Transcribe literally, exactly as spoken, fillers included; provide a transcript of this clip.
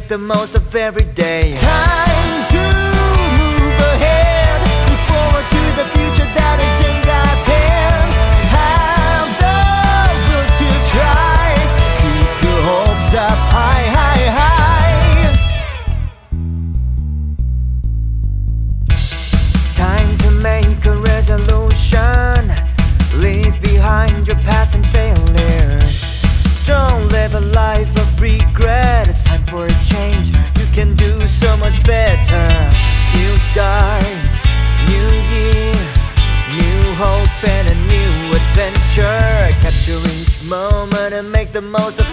the most of every day. Time to move ahead, look forward to the future that is in God's hands. Have the will to try, keep your hopes up high, high, high. Time to make a resolution, leave behind your past and failures. Don't live a life of regret. It's time for a change. You can do so much better. New start, new year, new hope and a new adventure. Capture each moment and make the most of